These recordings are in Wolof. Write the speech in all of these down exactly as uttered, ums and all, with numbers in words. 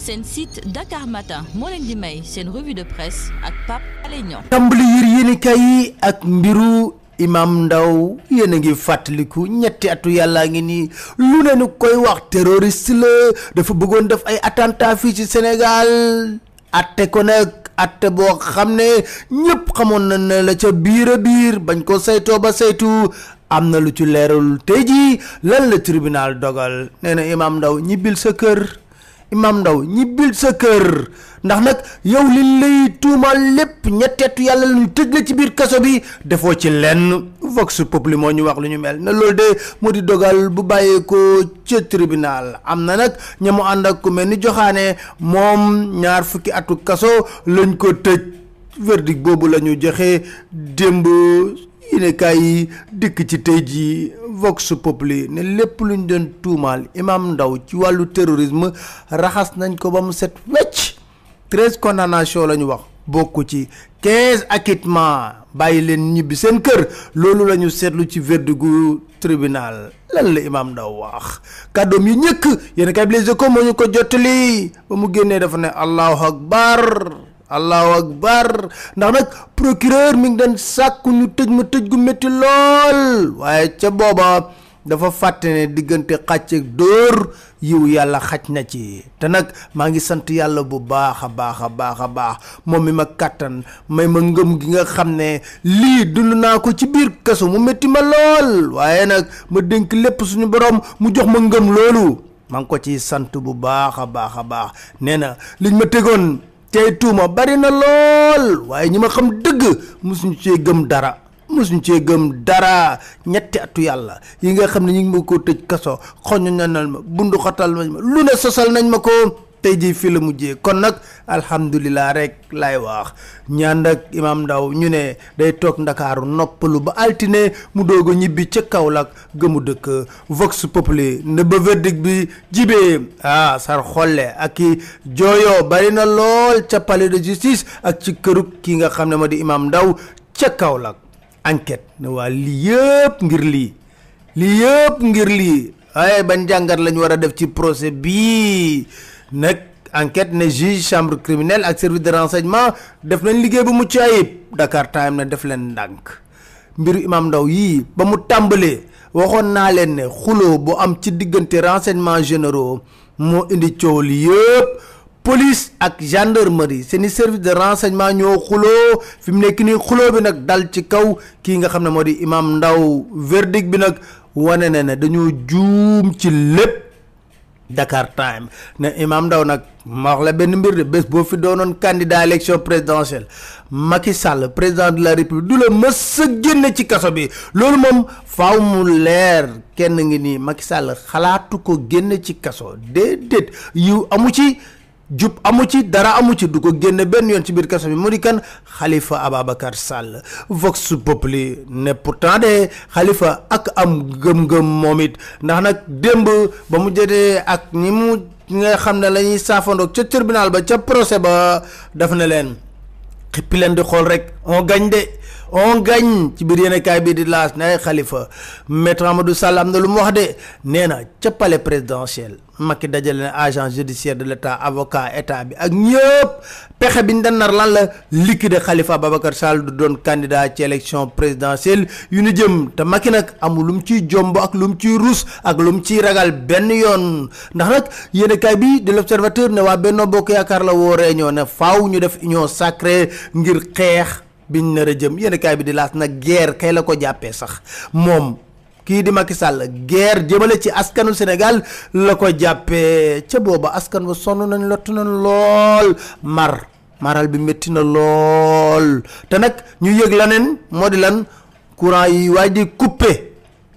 seen site Dakar Matin moo leen di may seen revue de presse ak Pape Alé Niang. tàmbali yër yéenekaay yi ak mbiru Imam Ndao yéen a ngi fàttaliku ñetti atu yàllaa ngi nii lu ne nu koy wax terroriste la dafa bëggoon def ay attentat fii ci Sénégal atte ko nag atte boo xam ne ñëpp xamoon na ne la ca biir a biir bañ ko saytoo ba saytu am na lu ci leerul tey jii lan la tribunal dogal nee na Imam Ndao ñibbil sa kër Imam Ndao ñibbil sa kër ndax nag yow li lay tuumal lépp ñetteetu yàlla lu ñu tëj la ci biir kaso bi defoo ci lenn Vox Populi moo ñu wax lu ñu mel ne loolu de moo di dogal bu bàyyeekoo ca tribunal am na nag ña mu ànd ak ku mel ni joxaane moom ñaar fukki atu kaso lañ ko tëj verdict boobu la ñu joxe démb yéenekaay yi dikk ci tey jii Vox Populi ne lépp lu ñu doon tuumaal Imam Ndao ci wàllu terrorisme raxas nañ ko ba mu set wecc treize condamnation la ñu wax bokku ci quinze acquittement bàyyi leen ñibbi seen kër loolu la ñu seetlu ci verdict gu tribunal lan la Imam Ndao wax kàddoom yi ñëkk yéenekaay bi Les Échos moo ñu ko jottali ba mu génnee dafa ne allahu akbar allahu akbar ndax nag procureur mi ngi doon sàkku ñu tëj ma tëj gu métti lool waaye ca booba dafa fàtte ne diggante xàcc ak dóor yiw yàlla xaj na ci te nag maa ngi sant yàlla bu baax a baax a baax a baax moom mi ma kàttan may ma ngëm gi nga xam ne lii dund naa ko ci biir kaso mu métti ma lool waaye nag ma dénk lépp suñu borom mu jox ma ngëm loolu maa ngi ko ciy sant bu baax a baax a baax nee na liñ ma tegoon tey tuuma bari na lool waaye ñi ma xam dëgg mosuñu cee gëm dara mosuñu cee gëm dara ñetti atu yàlla yi nga xam ne ñu ngi ma ko tëj kaso xoñu ñanal ma bundu xatal nañ ma lu ne sosal nañ ma ko tey jii fii la mujjee kon nag alhamdulilah rek lay wax ñaan ak Imam Ndao ñu ne day toog ndakaaru noppalu ba altine mu doog a ñibbi ca Kaolack gëmu dëkk Vox Populi ne ba verdict bi jibee ah sar xolle ak i jooyo bari na lool ca palais de justice ak ci kërug ki nga xam ne ma di Imam Ndao ca Kaolack enquête ne waa lii yëpp ngir lii lii yëpp ngir lii waaye ban jàngat lañu war a def ci procès bii nag enquête ne juge chambre criminelle ak service de renseignement def nañ liggéey bu mucc ayib Dakar Time na def leen ndànk mbiru Imam Ndao yii ba mu tàmbalee waxoon naa leen ne xuloo bu am ci diggante renseignements généraux moo indi coow li yëpp police ak gendarmerie seeni service de renseignement ñoo xuloo fi mu nekk nii xuloo bi nag dal ci kaw kii nga xam ne moo di Imam Ndao verdict bi nag wane na ne dañoo juum ci lépp Dakar Time ne Imam Ndao nag ma wax la benn mbir de bés boo fi doonoon candidat élection présidentielle Macky Sall président de la République du la mës a génne ci kaso bi loolu moom faaw mu leer kenn ngi nii Macky Sall xalaatu ko génne ci kaso déedéet yu amu ci jub amu ci dara amu ci du ko génne benn yoon ci biir kaso bi mu di kan Khalifa Ababacar Sall Vox Populi ne pourtant de Khalifa ak am gëm-gëm moom it ndax nag démb ba mu jotee ak ñi mu nga xam ne la ñuy saafandoog ca tribunal ba ca procès ba daf na leen xippi leen di xool rek on gagne de on gagne ci biir yéenekaay bi di laas ne ay Khalifa maître Amadou Sall am na lu mu wax de nee na ca palais présidentiel Macky dajale na agent judiciaire de l'état avocat état bi ak ñëpp pexe bi ñu dan nar lan la liquider Khalifa Ababacar Sall du doon candidat ci élection présidentielle yu ñu jëm te Macky nag amul lu mu ciy jomb ak lu mu ciy rus ak lu mu ciy ragal benn yoon ndax nag yéenekaay bi de l'Observateur ne waa Benno Bokk Yaakaar la woo réunion ne faaw ñu def union sacrée ngir xeex biñ nar a jëm yéenekaay bi di laas nag guerre kay la ko jàppee sax moom kii di Macky Sall guerre jëmale ci askanu Sénégal la ko jàppee ca booba askan ba sonn nañ lott nañ lool mar maral bi métti na lool te nag ñu yëg laneen moo di lan courant yi waay di coupé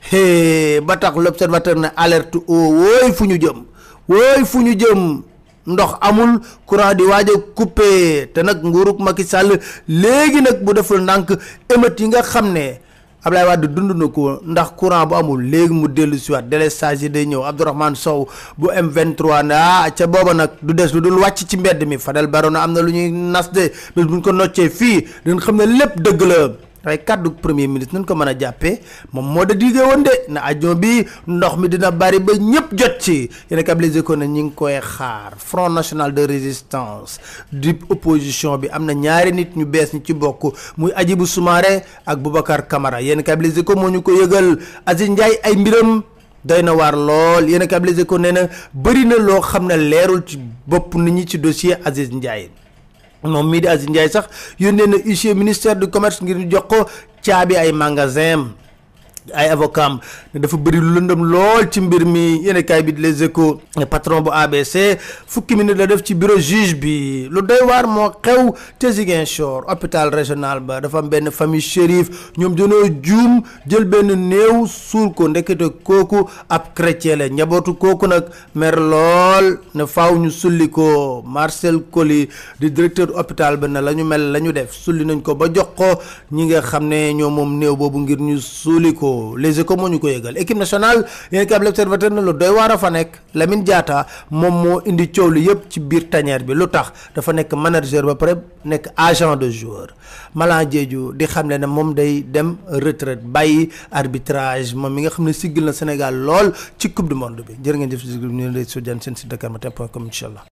hé ba tax l'Observateur ne alerte o wooy fu ñu jëm wooy fu ñu jëm ndox amul courant di waaj a coupé te nag nguurug Macky Sall léegi nag bu deful ndànk émeute yi nga xam ne Ablaye Wade dund na ko ndax courant bu amul léegi mu dellu si waat délestage yi day ñëw Abdourahmane Sow bu M vingt-trois ne ah ca booba nag du des lu dul wàcc ci mbedd mi Fadel Barona am na lu ñuy nas de bés buñ ko noccee fii dañ xam ne lépp dëgg la ray kaddu premier ministre nañ ko mën a jàppee moom moo da digee woon de na avion bi ndox mi dina bari ba ñëpp jot ci yéen a Les Échos ne ñi ngi koy xaar Front National de Résistance di opposition bi am na ñaari nit ñu bees ñi ci bokk muy Hadjibou Soumaré ak Boubacar Camara yéen a Les Échos moo ñu ko yëgal Aziz Ndiaye ay mbiram doy na waar lool yéen a Les Échos nee na bëri na loo xam ne leerul ci bopp nit ñi ci dossier Aziz Ndiaye moom mii di Aziz Ndiaye sax yónnee na huissier ministère du commerce ngir ñu jox ko caabi ay magasin ay avocat am ne dafa bëri lu lëndëm lool ci mbir mi yéen kaay bi di Les Échos patron bu A B C fukki minute la def ci bureau juge bi lu doy waar moo xew ca Ziguinchor hôpital régional ba dafa am benn famille Chérif ñoom dañoo juum jël benn néew suul ko ndekete kooku ab chrétien la njabootu kooku nag mer lool ne faaw ñu sulli ko Marcel Coly di directeur hôpital ba ne la ñu mel la ñu def sulli nañ ko ba jox ko ñi nga xam ne ñoo moom néew boobu ngir ñu suuli ko Les Échos moo ñu ko yëgal équipe nationale yéen kay l'Observateur na lu doy waar a fa nekk Lamine Diatta moom moo indi coow li yëpp ci biir tanière bi lu tax dafa nekk manager ba pare nekk agent de joueur Malang Diédhiou di xam ne ne moom day dem retraite bàyyi arbitrage moom mi nga xam ne siggil na Sénégal lool ci coupe du monde bi jërë ngeen jëf si ñu lay sojaan seen site dakar matin point com incha allah